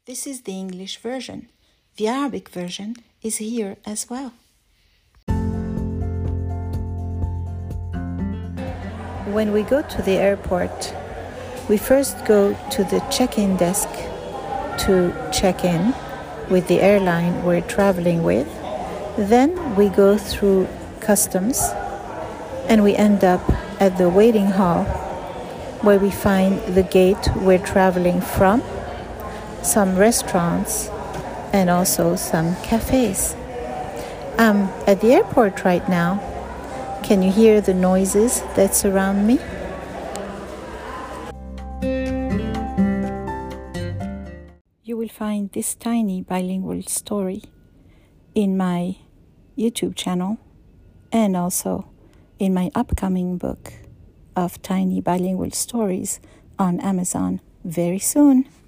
This is the English version. The Arabic version is here as well. When we go to the airport, we first go to the check-in desk to check in with the airline we're traveling with. Then we go through customs and we end up at the waiting hall where we find the gate we're traveling from, some restaurants, and also some cafes. I'm at the airport right now. Can you hear the noises that surround me? You will find this tiny bilingual story in my YouTube channel and also in my upcoming book of tiny bilingual stories on Amazon very soon.